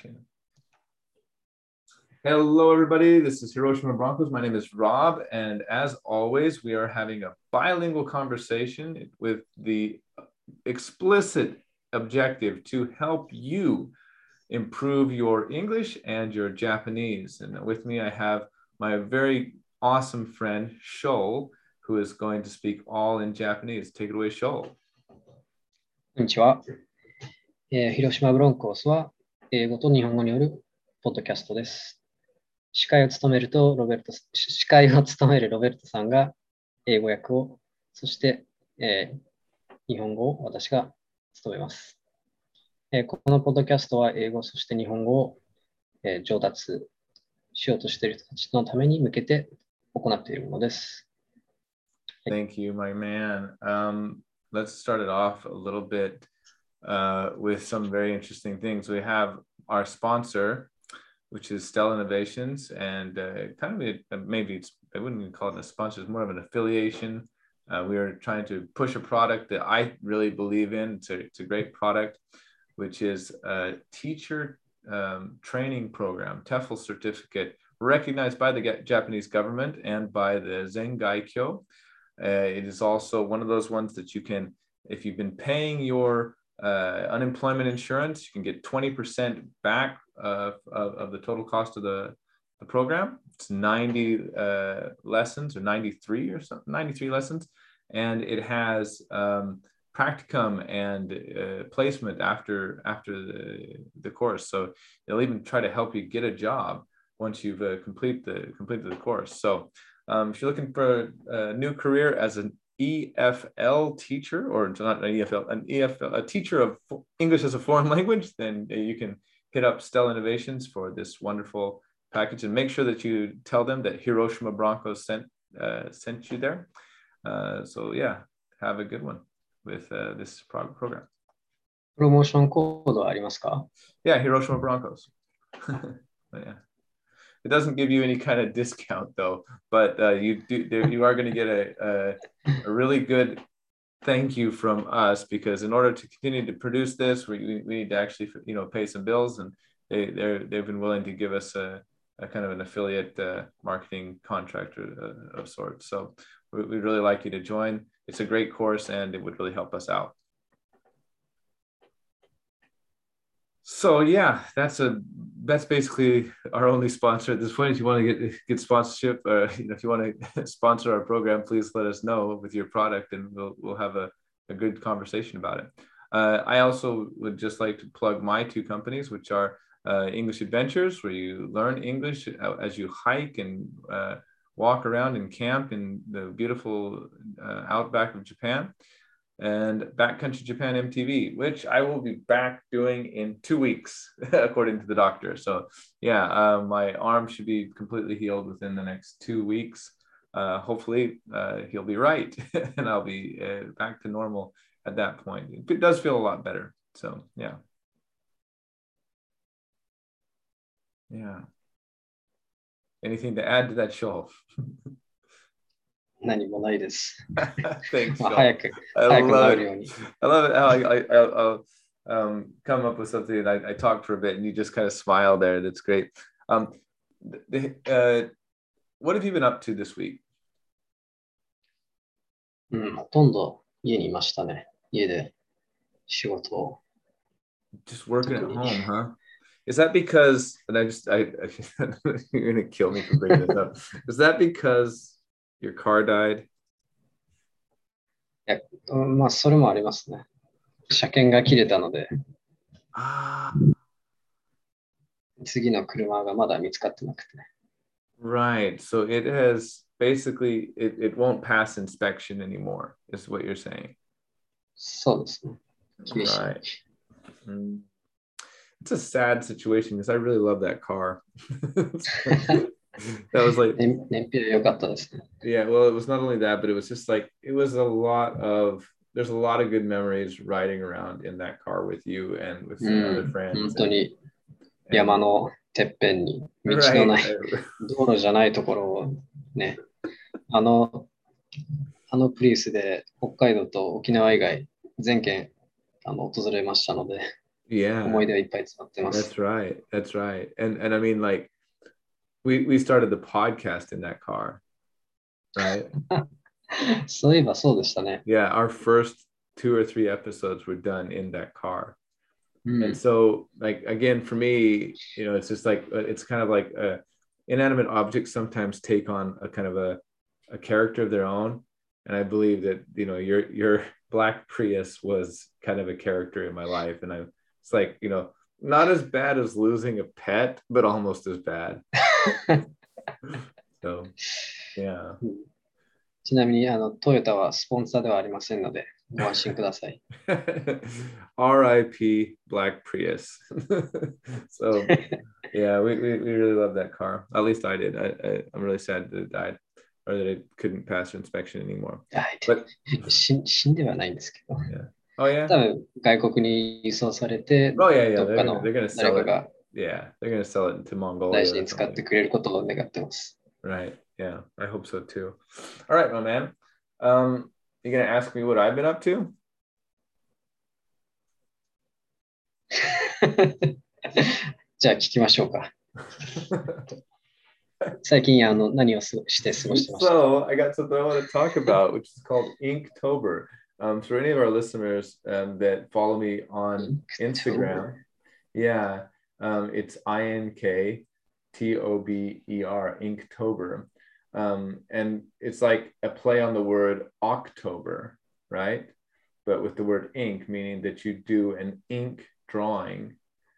Hello, everybody. This is Hiroshima Broncos. My name is Rob, and as always, we are having a bilingual conversation with the explicit objective to help you improve your English and your Japanese. And with me, I have my very awesome friend, Shoal, who is going to speak all in Japanese. Take it away, Shoal. こんにちは。広島ブロンコスは英語と日本語によるポッドキャストです。司会を務めるロベルトさんが英語訳を、そして、日本語を私が務めます。このポッドキャストは英語、そして日本語を、上達しようとしている人たちのために向けて行っているものです。 Thank you, my man. Let's start it off a little bit with some very interesting things. We have our sponsor, which is Stella Innovations, and I wouldn't even call it a sponsor, it's more of an affiliation. We are trying to push a product that I really believe in. It's a great product, which is a teacher training program, TEFL certificate, recognized by the Japanese government and by the Zengaikyo. It is also one of those ones that you can, if you've been paying your unemployment insurance, you can get 20% back of the total cost of the program. It's 90 lessons or 93 or something, 93 lessons. And it has practicum and placement after the course. So they'll even try to help you get a job once you've completed the course. So if you're looking for a new career as an EFL teacher, or not an EFL, a teacher of English as a foreign language, then you can hit up Stella Innovations for this wonderful package, and make sure that you tell them that Hiroshima Broncos sent you there. So yeah, have a good one with this program. プロモーションコードはありますか? Yeah, Hiroshima Broncos. Yeah. It doesn't give you any kind of discount though, but you are going to get a really good thank you from us, because in order to continue to produce this, we need to actually pay some bills, and they've been willing to give us a kind of an affiliate marketing contract of sorts. So we'd really like you to join. It's a great course, and it would really help us out. So yeah, that's basically our only sponsor at this point. If you want to get sponsorship, or if you want to sponsor our program, please let us know with your product, and we'll have a good conversation about it. I also would just like to plug my two companies, which are English Adventures, where you learn English as you hike and walk around and camp in the beautiful outback of Japan, and Backcountry Japan MTV, which I will be back doing in 2 weeks, according to the doctor. So yeah, my arm should be completely healed within the next 2 weeks. Hopefully he'll be right, and I'll be back to normal at that point. It does feel a lot better. So yeah. Yeah. Anything to add to that, Shoal? 何もないです。 Thanks, Shoal. 早く治るように。 I love it how I'll come up with something, and I talk for a bit, and you just kind of smile there. That's great. What have you been up to this week? ほとんど家にいましたね。家で仕事を。 Just working at home, huh? Is that because, and you're going to kill me for bringing this up. Is that because your car died? まあ、それもありますね。車検が切れたので、次の車がまだ見つかってなくて。 Right. So it has basically, it won't pass inspection anymore, is what you're saying. そうですね。厳しい。 Right. It's a sad situation, because I really love that car. That was like, 燃費良かったですね。 Yeah, well, it was not only that, but it was just like, there's a lot of good memories riding around in that car with you and with some other friends. 本当に山のてっぺんに道のない、道路じゃないところをね、あのプリウスで北海道と沖縄以外全県訪れましたので。 Yeah, 思い出はいっぱい詰まってま that's す。 right. That's right. And I mean, like, we started the podcast in that car, right? そういえばそうでしたね。 Yeah, our first 2 or 3 episodes were done in that car. う And ん。 so, like, again, for me, it's just like it's kind of like inanimate objects sometimes take on a kind of a character of their own. And I believe that your black Prius was kind of a character in my life, and it's like not as bad as losing a pet, but almost as bad. So yeah. ちなみに、トヨタはスポンサーではありませんので、ご安心ください。 R.I.P. Black Prius. So yeah, we really love that car. At least I did. I'm really sad that it died or that it couldn't pass inspection anymore. はい。 But 死んではないんですけど、 yeah. Oh yeah. 多分外国に輸送されて、 Oh yeah, yeah. どっ They're か gonna の they're gonna 誰 sell か it. が Yeah, they're gonna sell it to 大 Mongolia 事 or に使って something. くれることを願ってます。 Right. Yeah. I hope so too. All right, my man. You gonna ask me what I've been up to? じゃあ聞きましょうか。最近何をして過ごしてましたか？ So I got something I want to talk about, which is called Inktober. For any of our listeners that follow me on Instagram, yeah, it's Inktober, Inktober. And it's like a play on the word October, right? But with the word ink, meaning that you do an ink drawing,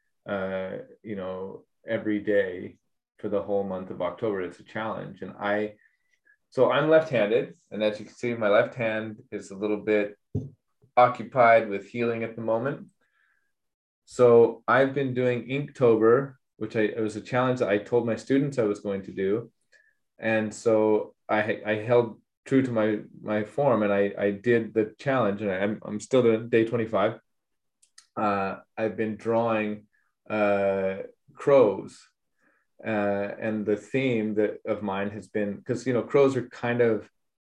every day for the whole month of October. It's a challenge. So I'm left-handed, and as you can see, my left hand is a little bit occupied with healing at the moment. So I've been doing Inktober, which it was a challenge that I told my students I was going to do. And so I held true to my form, and I did the challenge, and I'm still doing day 25. I've been drawing crows, and the theme of mine has been, because crows are kind of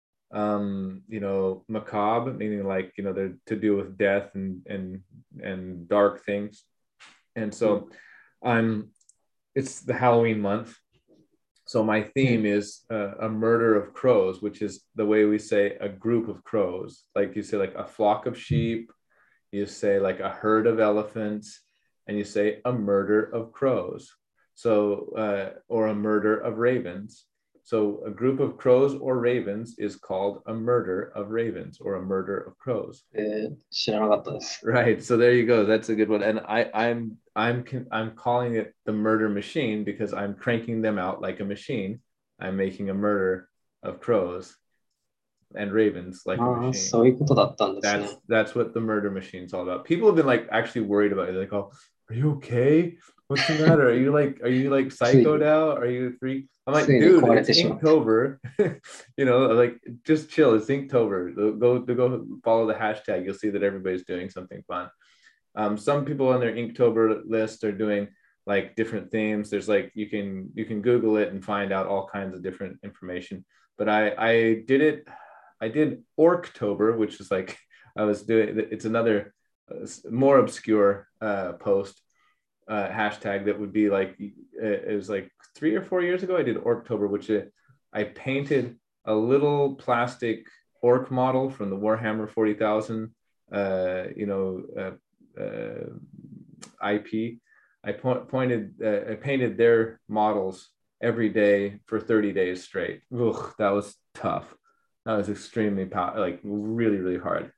macabre, meaning like they're to do with death and dark things. And so it's the Halloween month. So my theme is a murder of crows, which is the way we say a group of crows. Like you say, like a flock of sheep, you say like a herd of elephants, and you say a murder of crows. So, or a murder of ravens. So a group of crows or ravens is called a murder of ravens or a murder of crows. 知らなかったです。 Right. So there you go. That's a good one. And I'm calling it the murder machine because I'm cranking them out like a machine. I'm making a murder of crows and ravens like a ああ、 machine. そういうことだったんですね。 That's what the murder machine's all about. People have been like actually worried about it. They're like, oh, are you okay? What's the matter? Are you like psychoed out? Are you a freak? I'm like, ついに dude, 壊れ it's てしまった。 Inktober. Like just chill. It's Inktober. Go follow the hashtag. You'll see that everybody's doing something fun. Some people on their Inktober list are doing like different themes. There's like you can Google it and find out all kinds of different information. But I did Orktober, which is like I was doing. It's another more obscure post hashtag that would be like it was like 3 or 4 years ago. I did Orktober, which I painted a little plastic orc model from the Warhammer 40,000. IP. I painted their models every day for 30 days straight. Ugh, that was tough. That was extremely like really, really hard.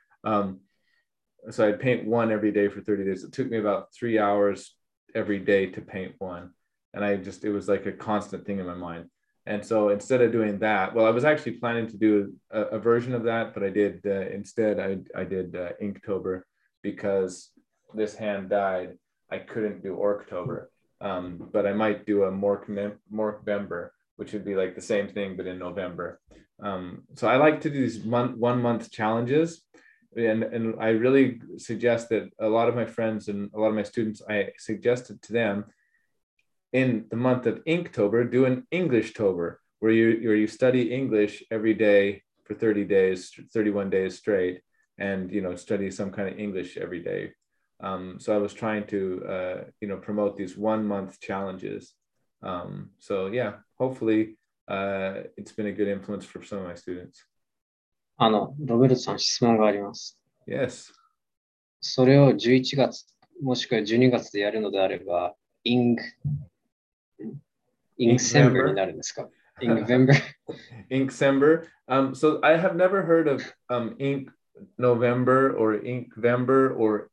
So I'd paint one every day for 30 days. It took me about 3 hours every day to paint one. And it was like a constant thing in my mind. And so instead of doing that, well, I was actually planning to do a version of that, but I did instead, I did Inktober because this hand died. I couldn't do Orktober, but I might do a Morkvember, which would be like the same thing, but in November. So I like to do these 1 month challenges. And I really suggest that a lot of my friends and a lot of my students, I suggested to them in the month of Inktober, do an Englishtober, where you study English every day for 30 days, 31 days straight, and study some kind of English every day. So I was trying to, promote these 1 month challenges. So yeah, hopefully it's been a good influence for some of my students. ロベルトさん質問があります。 Yes. それを11月もしくは12月でやるのであれば、Inkcember になるんですか？ Inkvember? Inkcember. So I have never heard of Ink November or Inkvember or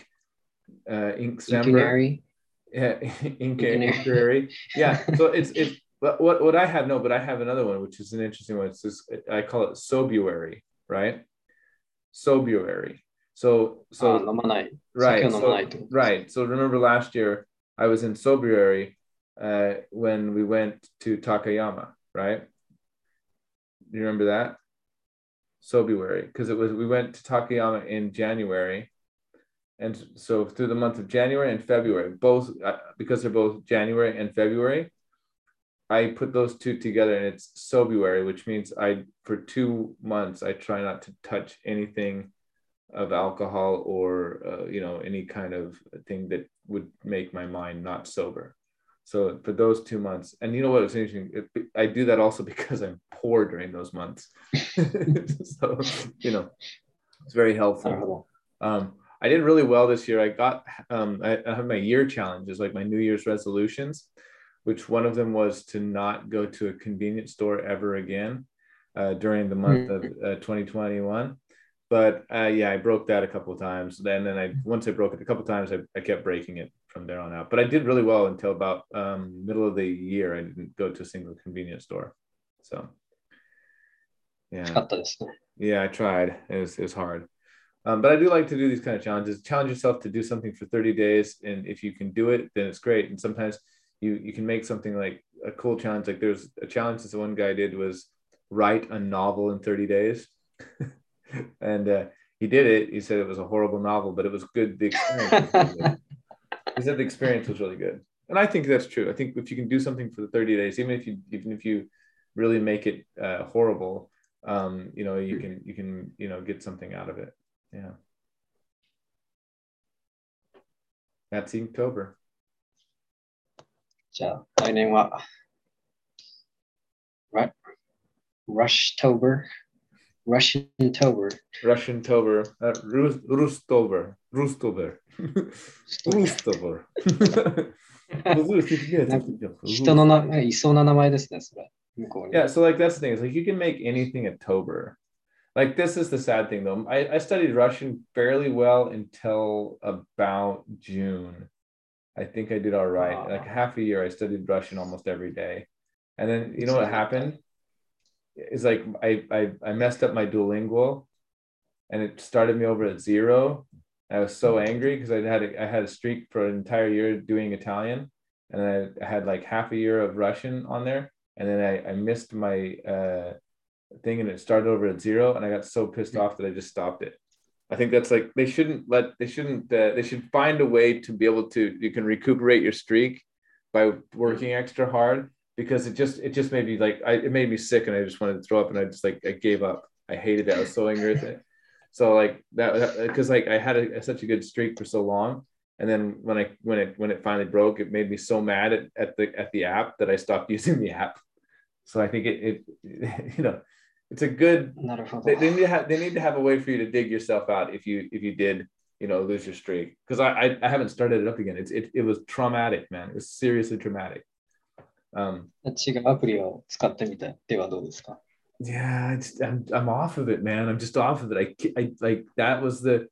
Inkcember. Yeah, Inquiry. Yeah. So it's what I have but I have another one which is an interesting one. It's just, I call it Sobuary, right? Sobuary. So right. So remember last year I was in Sobuary when we went to Takayama, right? Do you remember that? Sobuary, because we went to Takayama in January, and so through the month of January and February, both because they're both January and February, I put those two together and it's Sobuary, which means for 2 months I try not to touch anything of alcohol or any kind of thing that would make my mind not sober. So for those 2 months, and you know what, it's interesting, I do that also because I'm poor during those months. So it's very helpful. I did really well this year. I got I have my year challenges, like my New Year's resolutions, which one of them was to not go to a convenience store ever again during the month of 2021. But I broke that a couple of times. Then once I broke it a couple of times, I kept breaking it from there on out. But I did really well until about middle of the year. I didn't go to a single convenience store. So I tried. It was hard. But I do like to do these kind of challenges. Challenge yourself to do something for 30 days. And if you can do it, then it's great. And sometimes you can make something like a cool challenge. Like there's a challenge that one guy did was write a novel in 30 days. And he did it. He said it was a horrible novel, but it was good. The experience was really good. He said the experience was really good. And I think that's true. I think if you can do something for the 30 days, even if you really make it horrible, you can get something out of it. Yeah. That's Inktober. じゃあ、来年は、Rushtober. Russiantober. Rustober. 人のいそうな名前ですね、それ。 Yeah, so like that's the thing. It's like you can make anything a tober. Like this is the sad thing though. I studied Russian fairly well until about June. I think I did all right. Like half a year I studied Russian almost every day. And then you know what happened? It's like I messed up my Duolingo and it started me over at 0. I was so angry because I had a streak for an entire year doing Italian, and I had like half a year of Russian on there, and then I missed my thing and it started over at 0, and I got so pissed off that I just stopped it. I think that's like they should find a way to be able to, you can recuperate your streak by working extra hard, because it just made me like it made me sick and I just wanted to throw up, and I gave up. I hated it. I was so angry with it. So like that, because like I had such a good streak for so long, and then when it finally broke, it made me so mad at the app that I stopped using the app. So I think it it's a good. They need to have a way for you to dig yourself out if you did lose your streak, because I haven't started it up again. It was traumatic, man. It was seriously traumatic. 違うアプリを使ってみてではどうですか? Yeah, I'm off of it, man. I'm just off of it. I like that was the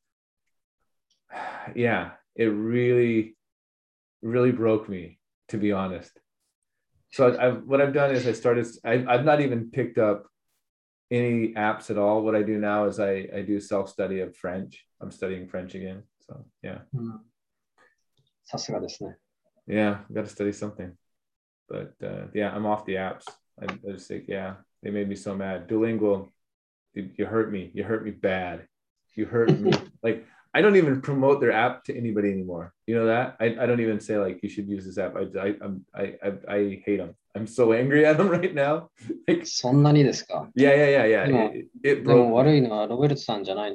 yeah. It really broke me, to be honest. So what I've done is I've not even picked up any apps at all. What I do now is I do self-study of French. I'm studying French again. So yeah. さすがですね. Yeah, got to study something. But yeah, I'm off the apps. I just think, yeah, they made me so mad. Duolingo, dude, you hurt me. You hurt me bad. You hurt me. Like, I don't even promote their app to anybody anymore. You know that? I don't even say like you should use this app. I hate them. I'm so angry at them right now. Like, そんなにですか? Yeah. It broke me. 悪いのはロベルトさんじゃない。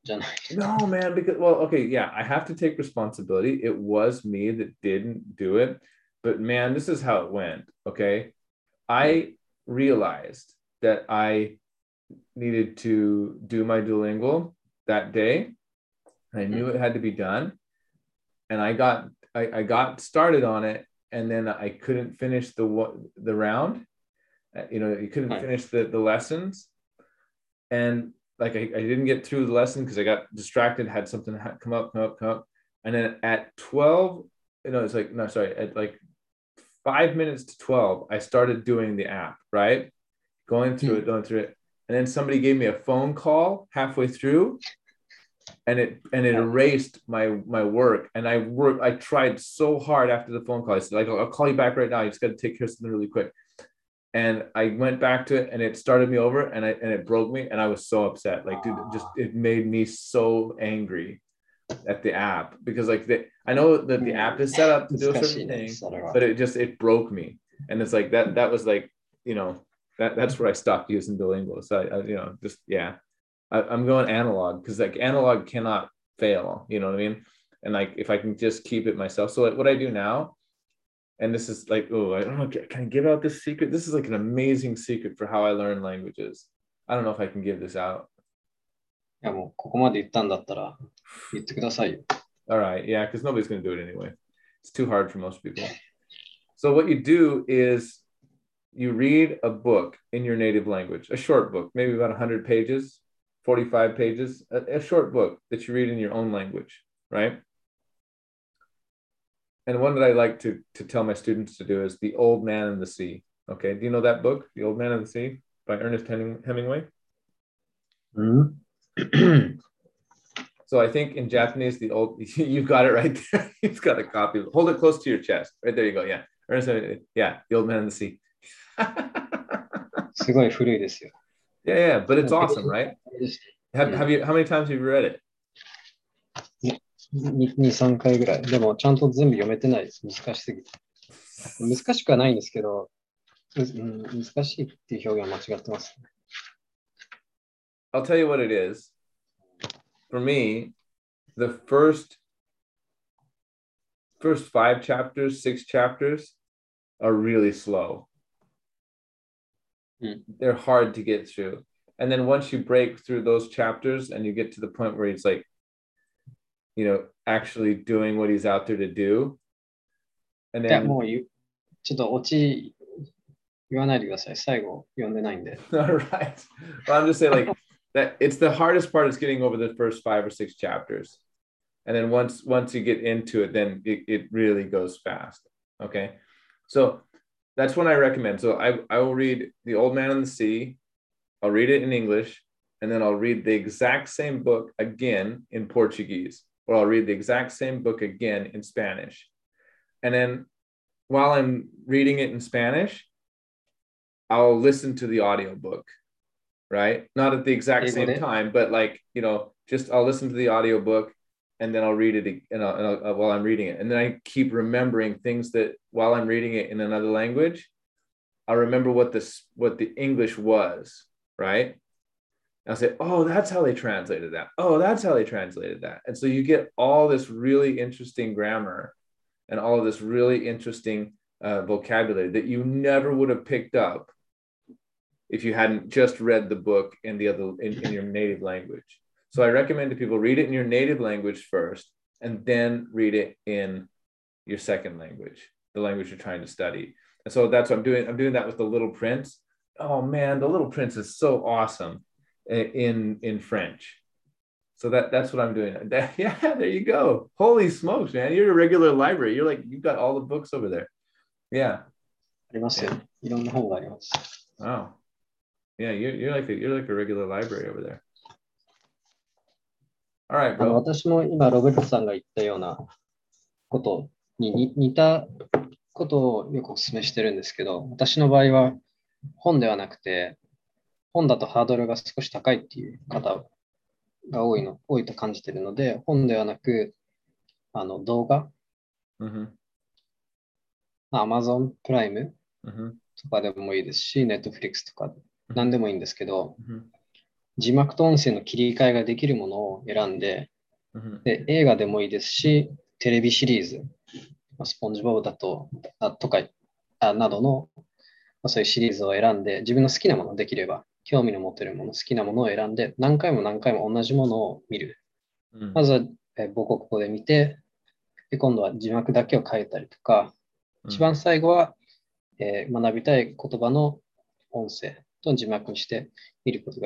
じゃない。 No, man, because, well, okay, yeah, I have to take responsibility. It was me that didn't do it. But man, this is how it went. Okay. I realized that I needed to do my Duolingo that day. I knew it had to be done. And I got started on it, and then I couldn't finish the round. You couldn't finish the lessons. And like I didn't get through the lesson because I got distracted, had something come up. And then at 12, it's like, no, sorry, at like 5 minutes to 12, I started doing the app, right? Going through it. And then somebody gave me a phone call halfway through, and it erased my work. And I tried so hard after the phone call. I said, like, I'll call you back right now. You just got to take care of something really quick. And I went back to it, and it started me over, and it broke me, and I was so upset. Like, dude, it made me so angry at the app, because like I know that the app is set up to do a certain thing, but it broke me. And it's like that was like, that's where I stopped using Duolingo. So I'm going analog, because like analog cannot fail, you know what I mean? And like if I can just keep it myself. So like what I do now, and this is like, oh, I don't know, can I give out this secret? This is like an amazing secret for how I learn languages. I don't know if I can give this out. いやもうここまで言ったんだったら言ってくださいよ。 All right, yeah, because nobody's going to do it anyway. It's too hard for most people. So what you do is you read a book in your native language, a short book, maybe about 100 pages, 45 pages, a short book that you read in your own language, right? And one that I like to tell my students to do is The Old Man and the Sea. Okay, do you know that book, The Old Man and the Sea, by Ernest Hemingway? So I think in Japanese, you've got it right there. You've got a copy. Hold it close to your chest. Right there you go. Yeah. Ernest Hemingway. Yeah, The Old Man and the Sea. すごい古いですよ。 Yeah, but it's awesome, right? How many times have you read it? 2、3回ぐらい。でもちゃんと全部読めてないです。難しすぎて。難しくはないんですけど、難しいっていう表現は間違ってます。 I'll tell you what it is. For me, the first 5 chapters, 6 chapters are really slow. They're hard to get through. And then once you break through those chapters and you get to the point where he's like, actually doing what he's out there to do. And then, いや、もうちょっとオチ言わないでください。最後読んでないんで。 All right. Well, I'm just saying like that it's the hardest part is getting over the first 5 or 6 chapters. And then once you get into it, then it really goes fast. Okay. So that's when I recommend. So I will read The Old Man and the Sea. I'll read it in English, and then I'll read the exact same book again in Portuguese, or I'll read the exact same book again in Spanish. And then while I'm reading it in Spanish, I'll listen to the audiobook, right? Not at the exact same time, but like, just I'll listen to the audiobook, and then I'll read it while I'm reading it. And then I keep remembering things that while I'm reading it in another language, I'll remember what the English was, right? I'll say, oh, that's how they translated that. Oh, that's how they translated that. And so you get all this really interesting grammar and all of this really interesting vocabulary that you never would have picked up if you hadn't just read the book in your native language. So I recommend to people read it in your native language first, and then read it in your second language, the language you're trying to study. And so that's what I'm doing. I'm doing that with The Little Prince. Oh man, The Little Prince is so awesome in French. So that's what I'm doing. Yeah, there you go. Holy smokes, man! You're a regular library. You've got all the books over there. Yeah. ありますよ。いろんな本があります。 Wow. Yeah, you're like a regular library over there. All right, bro. 私も今ロベルトさんが言ったようなことに似たことをよくお勧めしてるんですけど、私の場合は本ではなくて、本だとハードルが少し高いっていう方が多いと感じているので、本ではなく、動画、Amazon プライムとかでもいいですし、Netflix とか何でもいいんですけど、 字幕と音声の切り替えができるものを選んで、 Mhm. で映画でもいいですし、テレビシリーズ、スポンジボブだと、とか、などの、そういうシリーズを選んで、自分の好きなものできれば、興味の持てるもの、好きなものを選んで、何回も何回も同じものを見る。 Mm. まずは、母国語で見て、で今度は字幕だけを変えたりとか、一 Mm. 番最後は、学びたい言葉の音声と字幕にして見ることが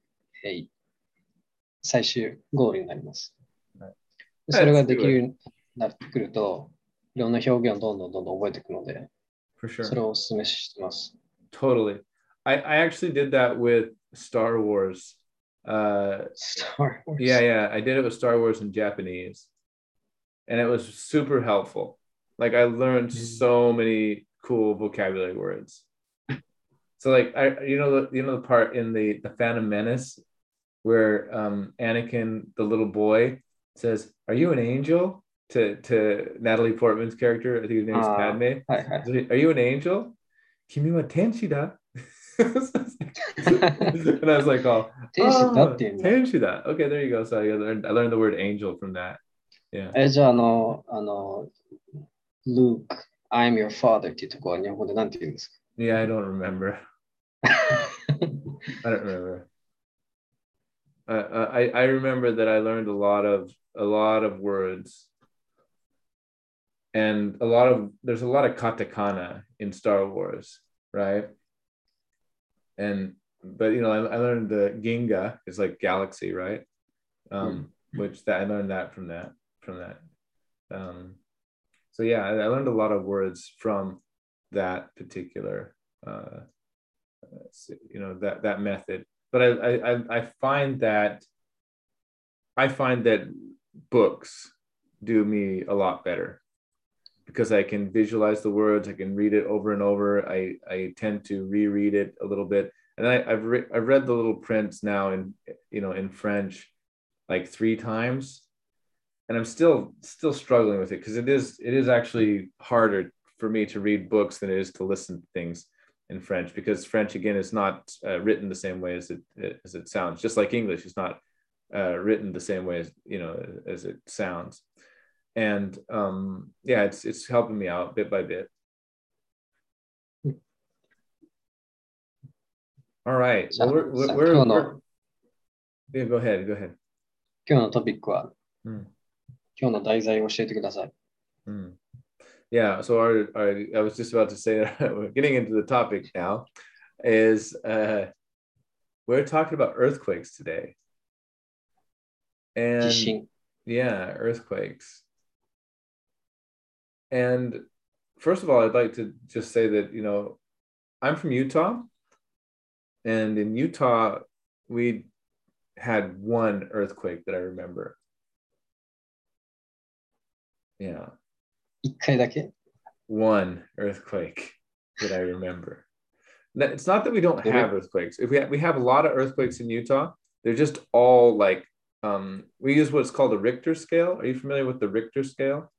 最終ゴールになります。 Right. でそれ Let's がで do きる it ようになってくると、いろんな表現をどんどん覚えていくので、 for それ sure. をお勧めしてます。 Totally. I actually did that with Star Wars. Star Yeah, Wars. yeah. I did it with Star Wars in Japanese, and it was super helpful. Like I learned うん so many cool vocabulary words. So like the part in the Phantom Menace where Anakin, the little boy, says, "Are you an angel?" to Natalie Portman's character. I think his name is ああ、 Padme. はいはい。 Are you an angel? Kimi wa tenshi da. And I was like, 天使だっ oh, ていうんだ。 tenshi da. Okay, there you go. So I learned the word angel from that. Yeah. じゃあ、Luke, I'm your father っていうところは日本語で何て言うんですか？ Yeah, I don't remember. I don't remember. I remember that I learned a lot of words, and there's a lot of katakana in Star Wars, right? And but I learned the Ginga is like galaxy, right? うん Which that I learned that from that. Um, so yeah, I learned a lot of words from that particular that method. But I find that books do me a lot better because I can visualize the words, I can read it over and over. I tend to reread it a little bit, and I've read The Little Prince now in French like 3 times, and I'm still struggling with it because it is actually harder for me to read books than it is to listen to things in French, because French again is not written the same way as it sounds. Just like English is not written the same way as it sounds. And yeah, it's helping me out bit by bit. All right. じゃ Well, あ、 we're yeah, go ahead. 今日のトピックは、 Mm, 今日の題材を教えてください。 mm. Yeah. So I was just about to say that we're getting into the topic now. Is we're talking about earthquakes today, 地 and 震。 yeah, earthquakes. And first of all, I'd like to just say that I'm from Utah, and in Utah we had one earthquake that I remember. Yeah, 一回だけ one earthquake that I remember. It's not that we don't どれ have earthquakes. If we have a lot of earthquakes in Utah, they're just all like we use what's called a Richter scale. Are you familiar with the Richter scale?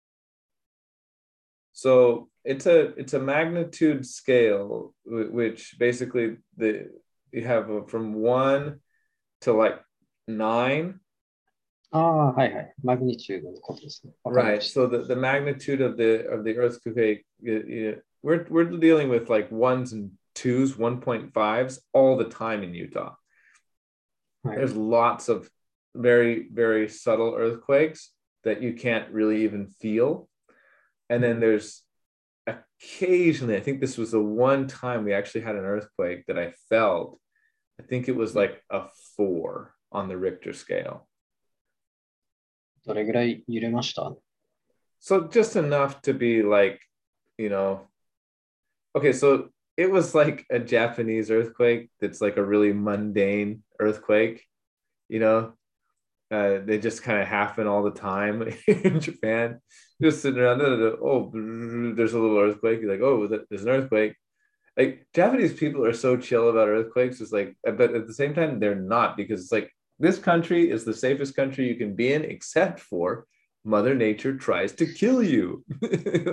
So it's a magnitude scale which basically you have from 1 to like 9. ああ、はいはい。マグニチュードのことですね。わかりま Right. し So the magnitude of the earthquake, we're dealing with like ones and twos, 1.5s all the time in Utah. た。はい。 There's lots of very, very subtle earthquakes that you can't really even feel. And then there's occasionally, I think this was the one time we actually had an earthquake that I felt. I think it was like a 4 on the Richter scale. どれぐらい揺れました？ So just enough to be like, you know, okay, so it was like a Japanese earthquake that's like a really mundane earthquake, you know. They just kind of happen all the time in Japan. Just sitting around, oh, there's a little earthquake. You're like, oh, there's an earthquake. Like Japanese people are so chill about earthquakes. It's like, but at the same time, they're not, because it's like this country is the safest country you can be in, except for Mother Nature tries to kill you,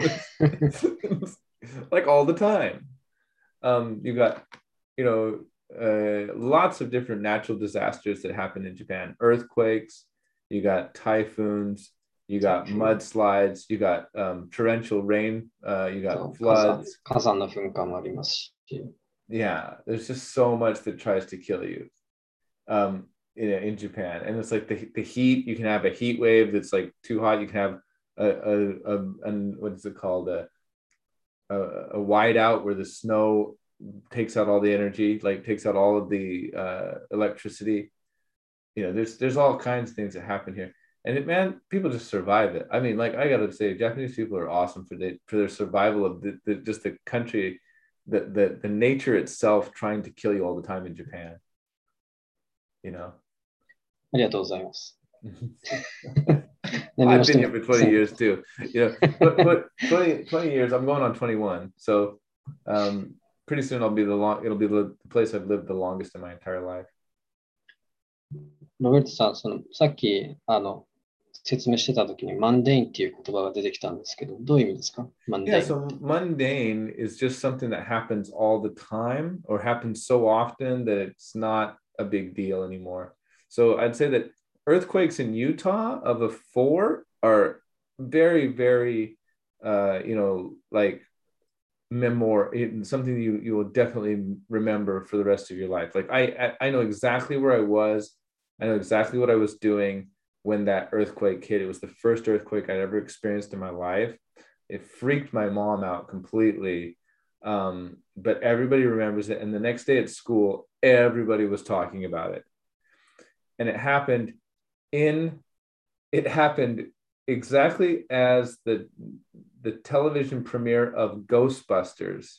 like all the time. You got, you know, lots of different natural disasters that happen in Japan. Earthquakes, you got typhoons, you got mudslides, you got torrential rain, you got floods. 火山の噴火もありますし。 Yeah, there's just so much that tries to kill you in Japan. And it's like the heat, you can have a heat wave that's like too hot. You can have what is it called? A whiteout where the snow takes out all the energy, like takes out all of the electricity. You know, there's all kinds of things that happen here. And man, people just survive it. I mean, like I gotta say, Japanese people are awesome for their survival of just the country, the nature itself trying to kill you all the time in Japan. You know. ありがとうございます。 I've been here for 20 years too. You know, but 20 years, I'm going on 21. So pretty soon it'll be the place I've lived the longest in my entire life. ロベルトさん、さっき説明してたときにマンデインっていう言葉が出てきたんですけど、どういう意味ですか？ Yeah, so mundane is just something that happens all the time or happens so often that it's not a big deal anymore. So I'd say that earthquakes in Utah of a 4 are very, very, like something you will definitely remember for the rest of your life. Like I know exactly where I was. I know exactly what I was doing when that earthquake hit. It was the first earthquake I'd ever experienced in my life. It freaked my mom out completely. But everybody remembers it. And the next day at school, everybody was talking about it. And it happened exactly as the television premiere of Ghostbusters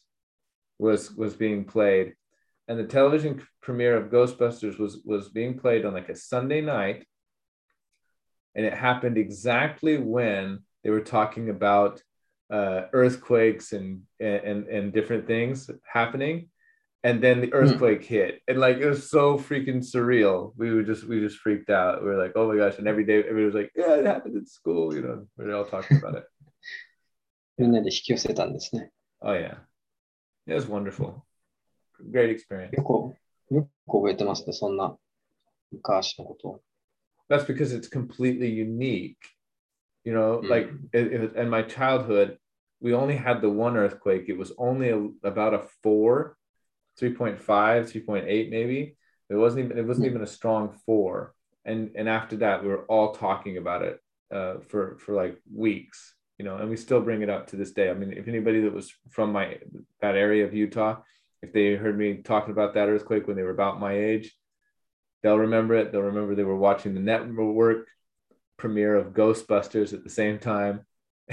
was being played. And the television premiere of Ghostbusters was being played on like a Sunday night. And it happened exactly when they were talking about earthquakes and different things happening. And then the earthquake hit, and like it was so freaking surreal. We just freaked out. We were like, oh my gosh! And every day everybody was like, yeah, it happened at school. You know, we were all talking about it. みんなで引き寄せたんですね。 Oh yeah, it was wonderful. Great experience. よく覚えてますね、そんな昔のことを。 That's because it's completely unique. You know, like in my childhood, we only had the one earthquake. It was only about a 4. 3.5, 3.8 maybe. It wasn't even a strong 4. And after that, we were all talking about it for like weeks, you know, and we still bring it up to this day. I mean, if anybody that was from that area of Utah, if they heard me talking about that earthquake when they were about my age, they'll remember it. They'll remember they were watching the network premiere of Ghostbusters at the same time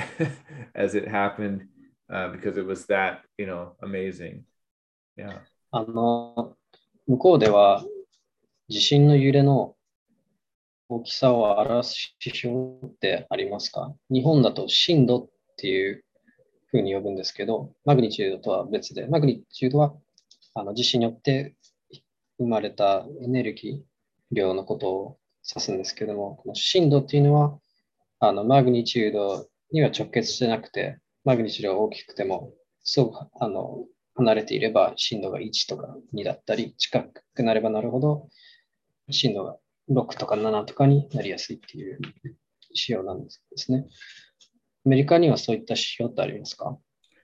as it happened because it was that, you know, amazing. Yeah. 向こうでは地震の揺れの大きさを表す指標ってありますか？日本だと震度っていうふうに呼ぶんですけど、マグニチュードとは別で、マグニチュードは地震によって生まれたエネルギー量のことを指すんですけども、この震度っていうのはマグニチュードには直結してなくて、マグニチュードが大きくても、そう離れていれば震度が1とか2だったり、近くなればなるほど震度が6とか7とかになりやすいっていう指標なんですね。アメリカにはそういった指標ってありますか？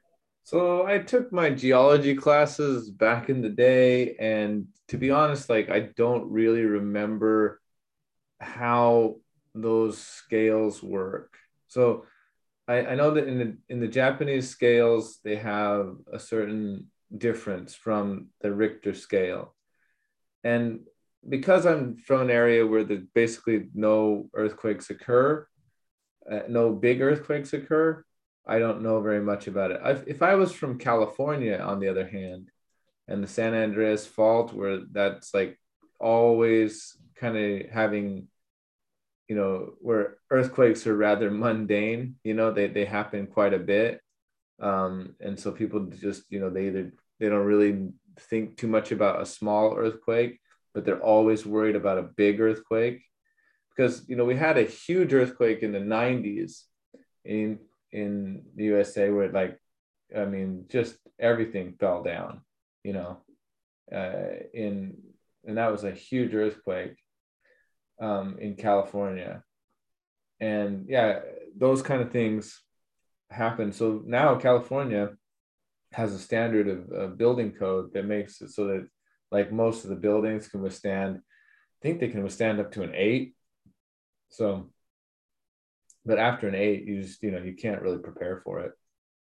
So I took my geology classes back in the day, and to be honest, like I don't really remember how those scales work. So I know that in the Japanese scales, they have a certain difference from the Richter scale. And because I'm from an area where there's basically no earthquakes occur, no big earthquakes occur, I don't know very much about it. If I was from California, on the other hand, and the San Andreas Fault, where that's like always kind of having, you know, where earthquakes are rather mundane, you know, they happen quite a bit. And so people just, you know, they don't really think too much about a small earthquake, but they're always worried about a big earthquake. Because, you know, we had a huge earthquake in the 90s in the USA where, like, I mean, just everything fell down, you know. and that was a huge earthquake in California. And yeah, those kind of things happen. So now California has a standard of building code that makes it so that like most of the buildings can withstand, I think they can withstand up to an 8. So, but after an 8, you just, you can't really prepare for it.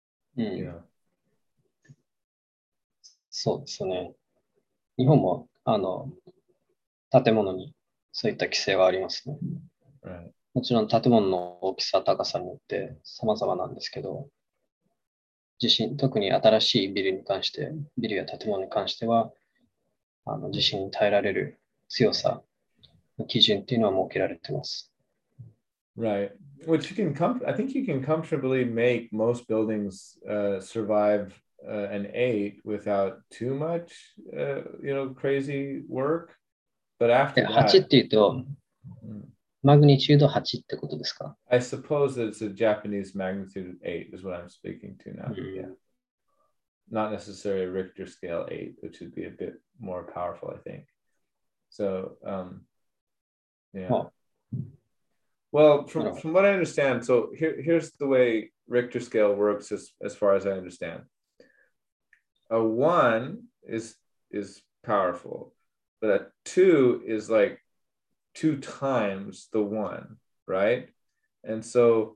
そうですよね。日本も建物にそういった規制はありますね。 Right. もちろん建物の大きさ、高さによって様々なんですけど、特に新しいビルや建物に関しては、地震に耐えられる強さの基準っていうのは設けられています。 Right. Which I think you can comfortably make most buildings survive an 8 without too much, crazy work. But after 8 that, っていうと、マグニチュード8ってことですか？ I suppose that it's a Japanese magnitude 8 is what I'm speaking to now. Yeah. Not necessarily a Richter scale 8, which would be a bit more powerful, I think. So, yeah. Well, from what I understand, so here's the way Richter scale works as far as I understand. A 1 is powerful, but a 2 is like 2 times the 1, right? And so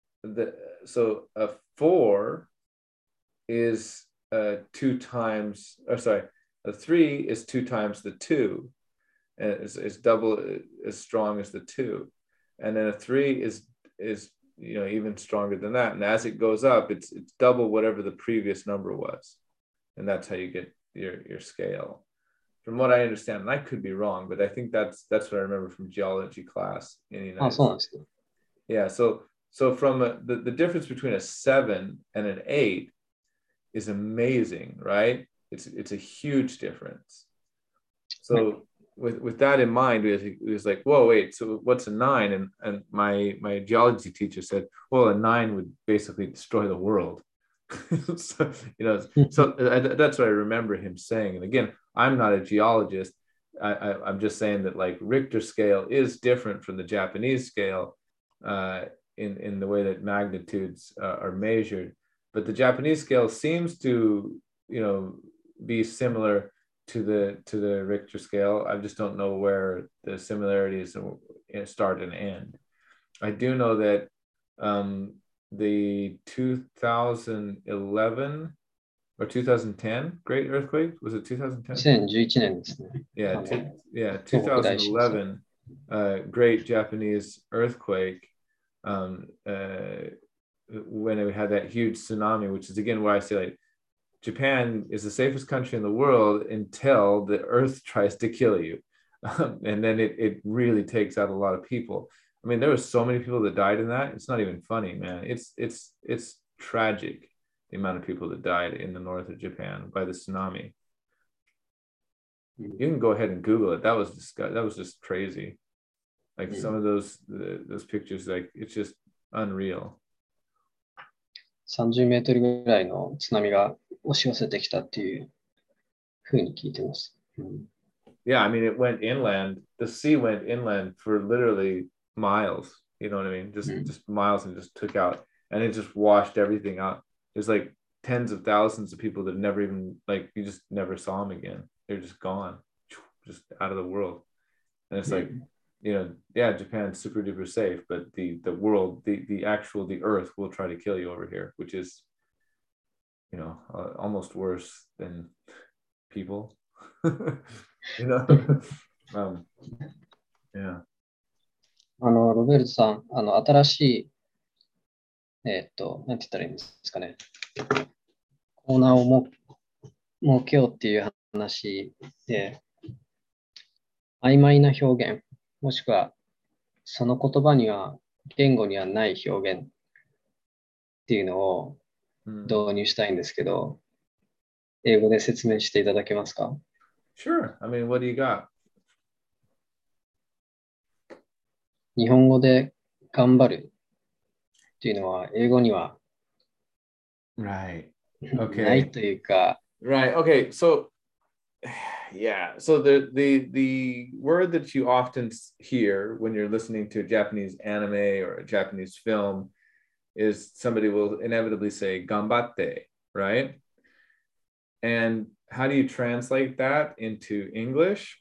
a 4 is 2 times, or sorry, a 3 is 2 times the 2, and it's double as strong as the 2. And then a 3 is even stronger than that. And as it goes up, it's double whatever the previous number was. And that's how you get your scale. From what I understand, and I could be wrong, but I think that's what I remember from geology class in the United States. Yeah, so from the difference between a 7 and an 8 is amazing, right? It's a huge difference. So with that in mind, it was like, whoa, wait, so what's a 9? And my geology teacher said, well, a 9 would basically destroy the world. So that's what I remember him saying. And again, I'm not a geologist. I'm just saying that like Richter scale is different from the Japanese scale in the way that magnitudes are measured. But the Japanese scale seems to, be similar to the Richter scale. I just don't know where the similarities start and end. I do know that the 2011 or 2010 great earthquake, was it 2010? 2011年ですね。 Yeah, 2011 great Japanese earthquake when we had that huge tsunami, which is again why I say like Japan is the safest country in the world until the earth tries to kill you. And then it really takes out a lot of people. I mean, there were so many people that died in that. It's not even funny, man. It's tragic, the amount of people that died in the north of Japan by the tsunami. You can go ahead and Google it. That was just crazy. Like some of those pictures, like it's just unreal. 30メートルぐらいの津波が押し寄せてきたっていうふうに聞いてます。 Yeah, I mean, it went inland. The sea went inland for literally miles. You know what I mean? Just miles, and just took out, and it just washed everything out. There's like tens of thousands of people that never even, like, you just never saw them again. They're just gone, just out of the world. And it's like, yeah, Japan's super duper safe, but the world, the earth will try to kill you over here, which is, almost worse than people. Yeah. ロベルトさん、新しい、なんて言ったらいいんですかね。コーナーを設けようっていう話で、曖昧な表現、もしくはその言葉には、言語にはない表現っていうのを導入したいんですけど、英語で説明していただけますか？ Sure. I mean, what do you got? 日本語で頑張るっていうのは、英語には Right. ないというか。 Right. Okay. So Yeah. So the word that you often hear when you're listening to a Japanese anime or a Japanese film is somebody will inevitably say "gambatte," right? And how do you translate that into English?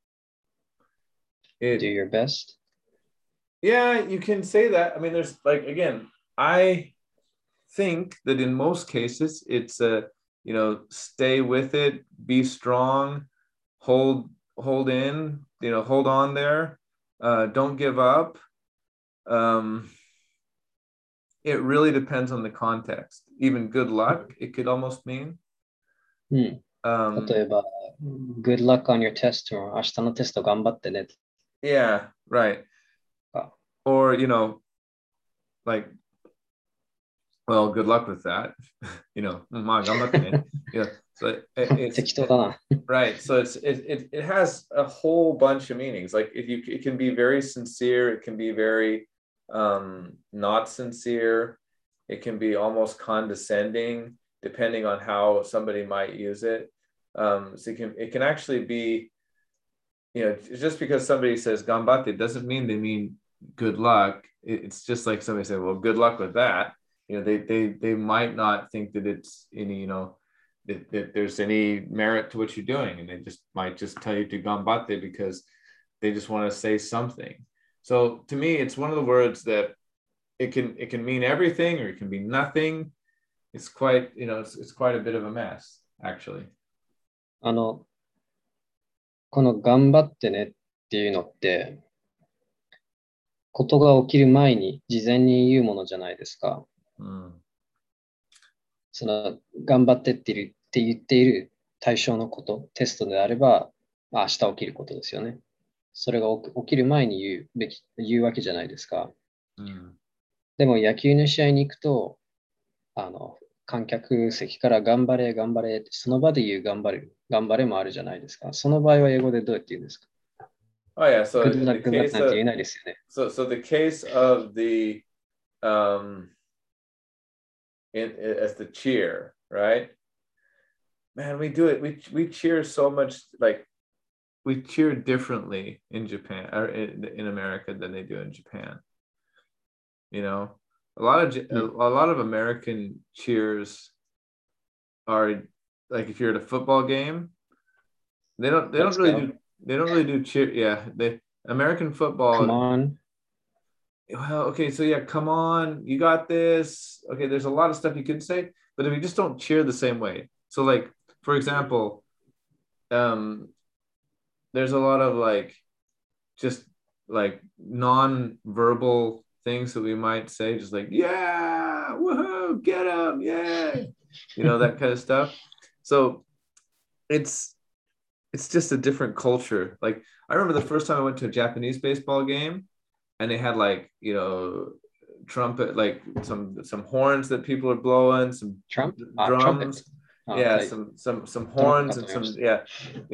Do your best. Yeah, you can say that. I mean, there's like again, I think that in most cases it's a stay with it, be strong, hold in, hold on there, don't give up. Um, it really depends on the context. Even good luck, it could almost mean. うん。 Um, 例えば、Good luck on your test も明日のテスト頑張ってねと yeah, right. か。 Or like, well, good luck with that. So it's 適当だな。 right. So it has a whole bunch of meanings. Like it can be very sincere, it can be very not sincere, it can be almost condescending, depending on how somebody might use it. So it can actually be, just because somebody says gambate doesn't mean they mean good luck. It's just like somebody said, well, good luck with that. They might not think that it's any, that there's any merit to what you're doing, and they just might just tell you to gambate because they just want to say something. So to me, it's one of the words that it can mean everything or it can be nothing. It's quite, it's quite a bit of a mess, actually. この頑張ってねっていうのって、ことが起きる前に事前に言うものじゃないですか。 Mm. その頑張ってって言っている対象のこと、テストであれば、明日起きることですよね。それが起きる前に言うわけじゃないですか。 Mm. でも野球の試合に行くと、観客席から頑張れ、頑張れって、その場で言う頑張れもあるじゃないですか。その場合は英語でどうやって言うんですか？ Oh yeah. So Good in the luck, good luck case なんて言え of ないですよね。 so the case of the um as the cheer, right? Man, we do it. We cheer so much, like we cheer differently in Japan or in America than they do in Japan. You know, a lot of American cheers are like if you're at a football game, they don't Let's really go. do they don't really do cheer. Yeah, they American Come football. on. Well, okay, so yeah, come on, you got this. Okay, there's a lot of stuff you could say, but if you just don't cheer the same way. So like, for example, um, there's a lot of like just like non-verbal things that we might say, just like, yeah, woohoo, get him, yeah, that kind of stuff. So it's it's just a different culture. Like I remember the first time I went to a Japanese baseball game and they had like, trumpet, like some horns that people are blowing, some Trump? Trumpet. drums, yeah, はい。 some トランプか horns と and 思いま some, した。 yeah,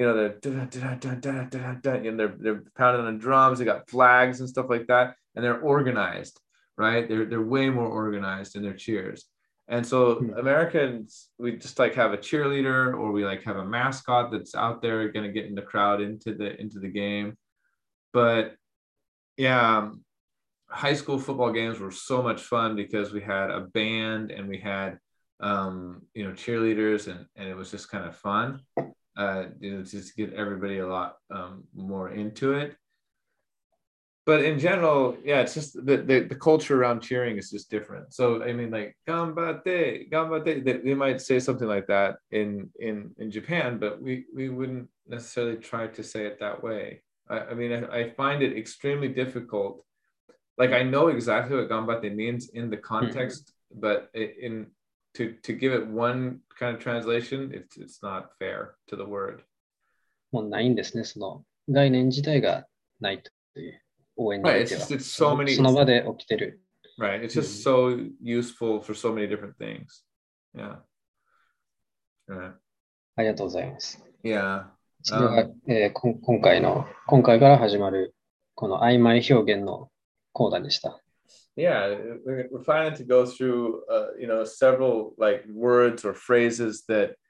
and they're pounding on the drums. They got flags and stuff like that, and they're organized, right? They're way more organized in their cheers. And so Americans, we just like have a cheerleader or we like have a mascot that's out there going to get in the crowd into the game. But yeah, high school football games were so much fun because we had a band and we had cheerleaders, and it was just kind of fun, just get everybody a lot more into it. But in general, yeah, it's just the culture around cheering is just different. So I mean, like "gambate, gambate," they might say something like that in Japan, but we wouldn't necessarily try to say it that way. I mean, I find it extremely difficult. Like I know exactly what gambate means in the context, but to give it one kind of translation, it's not fair to the word. もうないんですね。その概念自体がないという。応援に Right. おい It's て just は。 it's so many. その場で起きてる。 Right. It's just so useful for so many different things. Yeah. Right. ありがとうございます。 Yeah. それが、今回から始まるこの曖昧表現の講談でした。 Yeah, we're planning to go through, several like words or phrases that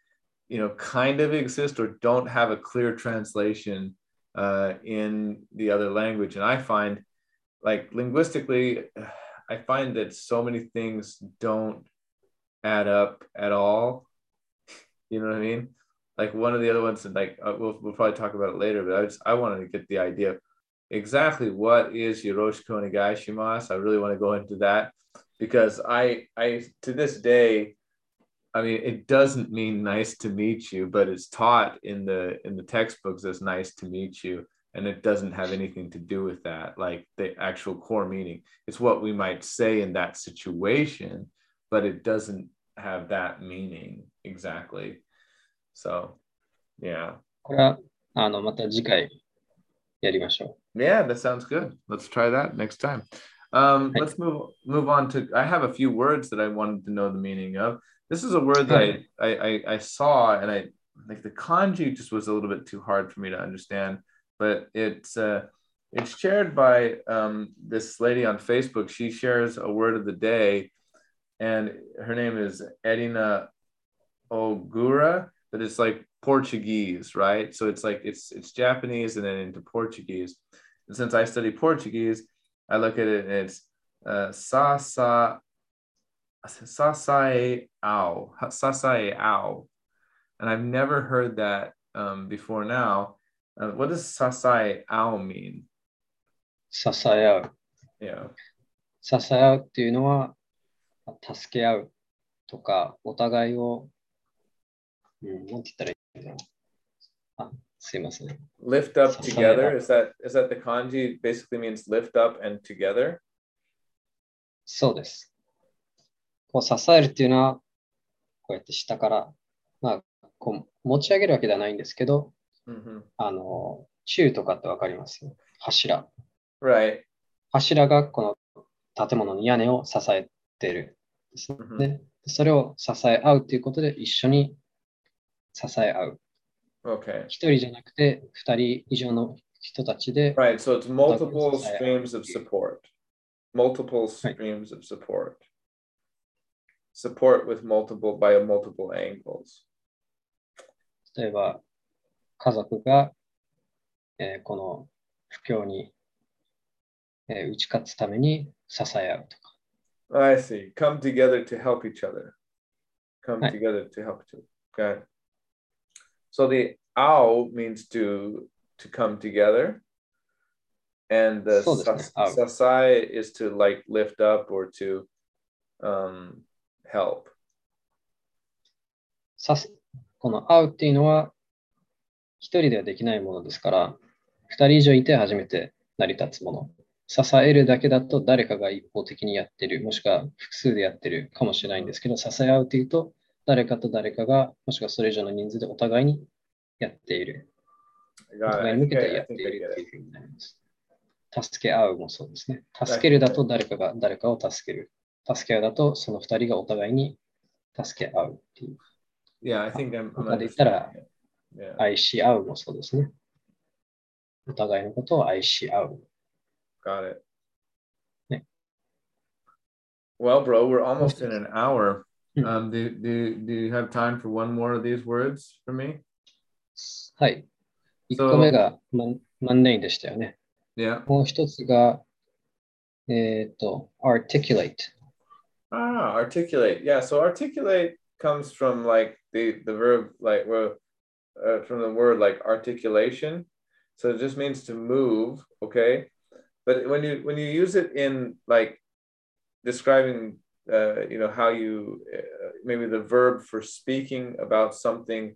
kind of exist or don't have a clear translation in the other language. And I find, like, linguistically, I find that so many things don't add up at all. You know what I mean? Like, one of the other ones, like, we'll probably talk about it later, but I wanted to get the idea of exactly what is Yoroshiku onegai shimasu. I really want to go into that because I to this day, I mean, it doesn't mean nice to meet you, but it's taught in the textbooks as nice to meet you, and it doesn't have anything to do with that, like the actual core meaning. It's what we might say in that situation, but it doesn't have that meaning exactly. So, yeah. これはまた次回やりましょう。 Yeah, that sounds good. Let's try that next time. Let's move on to. I have a few words that I wanted to know the meaning of. This is a word that I saw, and I like the kanji just was a little bit too hard for me to understand. But it's shared by this lady on Facebook. She shares a word of the day, and her name is Edina Ogura, but it's like Portuguese, right? So it's like it's Japanese and then into Portuguese. And since I study Portuguese, I look at it and it's sasae ao. And I've never heard that before now. What does sasae ao mean? 支え合う。 Yeah. 支え合うっていうのは、助け合うとか、お互いを、なんて言ったらいいのかな。すいません。 Lift up together. Is that the kanji basically means lift up and together? そうです。こう支えるっていうのは、こうやって下から、こう持ち上げるわけではないんですけど、柱とかってわかりますよ。柱。 Right. 柱がこの建物の屋根を支えているですね。それを支え合うということで一緒に支え合う。 Okay. 一人じゃなくて二人以上の人たちで。 Right. So it's multiple streams of support. Multiple streams of support. Support with multiple angles. 例えば家族が、この不況に、打ち勝つために支え合うとか。 I see. Come together to help each other. Come together to help each other. Okay. So the ao means to come together. And the sasai is to like lift up or to help. この会うっていうのは一人ではできないものですから、二人以上いて初めて成り立つもの。支えるだけだと誰かが一方的にやってる、もしくは複数でやってるかもしれないんですけど、支え合うというと、誰かと誰かが、もしくはそれ以上の人数でお互いにやっている。お互いに向けてやっているというふうになります。助け合うもそうですね。助けるだと誰かが誰かを助ける。助け合うだとその二人がお互いに助け合うっていう。 Yeah, I think I'm 他で言ったら、愛し合うもそうですね。お互いのことを愛し合う。 Got it. Well, bro, we're almost in an hour. Do you have time for one more of these words for me? はい。1個目がマンネインでしたよね。 Yeah. もう一つが、articulate. Articulate. Yeah, so articulate comes from like the verb, like from the word like articulation. So it just means to move, okay? But when you use it in like describing, how you maybe the verb for speaking about something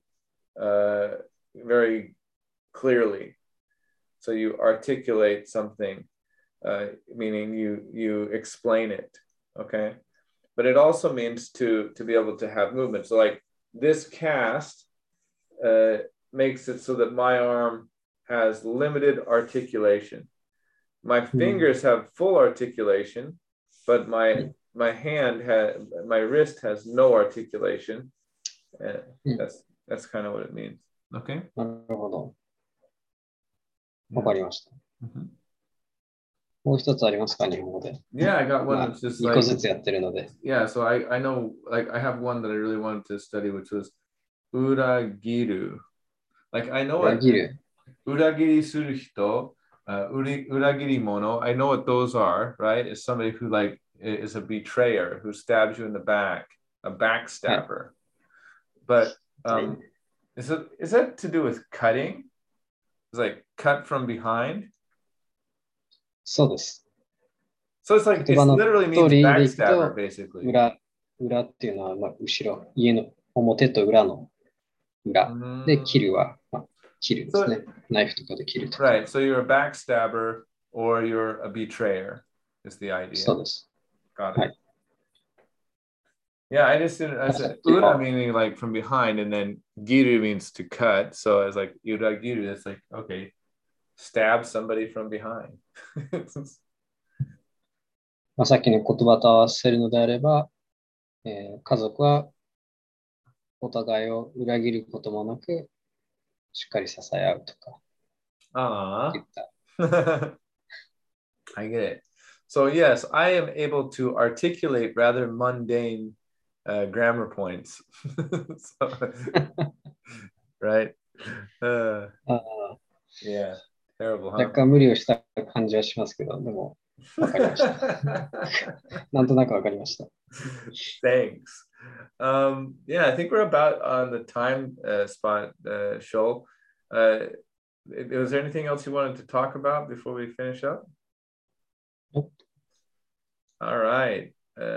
very clearly. So you articulate something, meaning you explain it, okay? But it also means to be able to have movement. So like this cast makes it so that my arm has limited articulation. My fingers have full articulation, but my wrist has no articulation. That's kind of what it means. Okay. なるほど。わかりました。もう一つありますか、日本語で。 Yeah, I got one that's just like 2個ずつやってるので。 Yeah, so I know, like I have one that I really wanted to study, which was uragiru. Like I know 裏 what 切る。 uragiri suru hito, uragiri mono. I know what those are, right? It's somebody who like is a betrayer who stabs you in the back, a backstabber. But はい。 is that to do with cutting? It's like cut from behind. そうです。 So it's like 言 it 葉の literally 通 means りでいく backstabber, と、 basically. 裏っていうのは、まあ、後ろ、家の表と裏の裏。で、切るは、まあ、切るですね。ナイフとかで切るとか。 Right. So you're a backstabber or you're a betrayer is the そう idea. です。 Got it. はい。 Yeah, I just didn't. I said ura meaning like from behind, and then giru means to cut. So I was like uragiru. That's like okay, stab somebody from behind. まあ、さっきの言葉と合わせるのであれば、家族はお互いを裏切ることもなく、しっかり支え合うとか Ah, 言った。 I get it. So yes, I am able to articulate rather mundane grammar points. So, right? あー Yeah, terrible, 若 huh? 干無理をした感じはしますけど、でも、わかりました。なんとなくわかりました。 Thanks. Yeah, I think we're about on the time spot, Shoal. Was there anything else you wanted to talk about before we finish up? Nope. All right.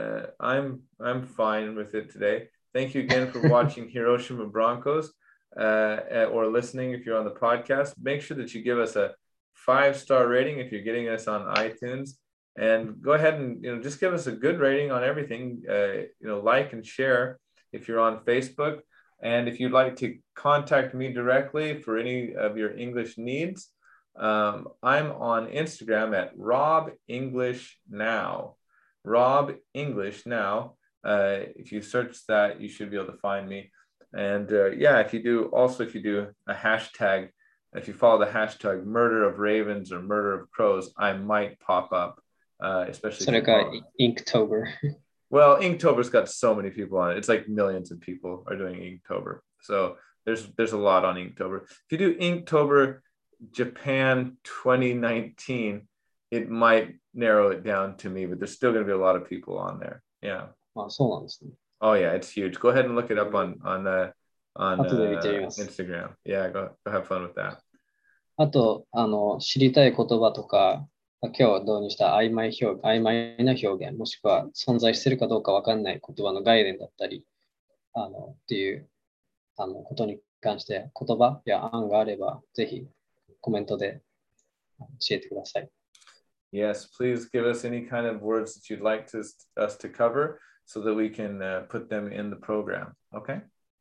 I'm fine with it today. Thank you again for watching Hiroshima Broncos or listening if you're on the podcast. Make sure that you give us a 5-star rating if you're getting us on iTunes. And go ahead and just give us a good rating on everything. Like and share if you're on Facebook. And if you'd like to contact me directly for any of your English needs, I'm on Instagram at Rob English Now. Rob English Now. If you search that, you should be able to find me. And if you do a hashtag, if you follow the hashtag murder of ravens or murder of crows, I might pop up. Especially それが Inktober。 Well, Inktober's got so many people on it. It's like millions of people are doing Inktober. So there's a lot on Inktober. If you do Inktober Japan 2019, it might narrow it down to me, but there's still going to be a lot of people on there. Yeah. あ、そうなんですね。 Oh yeah, it's huge. Go ahead and look it up on 後で見てみます。 Instagram. Yeah, go have fun with that. あと、知りたい言葉とか、今日導入した曖昧な表現、もしくは存在しているかどうかわかんない言葉の概念だったり、っていうことに関して言葉や案があれば、ぜひコメントで教えてください。 Yes, please give us any kind of words that you'd like us to cover so that we can put them in the program. Okay.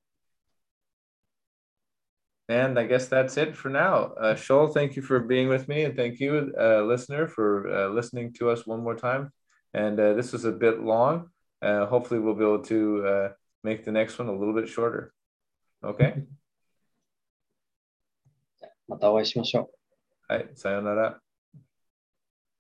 And I guess that's it for now. Shoal, thank you for being with me. And thank you, listener, for listening to us one more time. And this was a bit long. Hopefully we'll be able to make the next one a little bit shorter. Okay? またお会いしましょう。 はい、さようなら。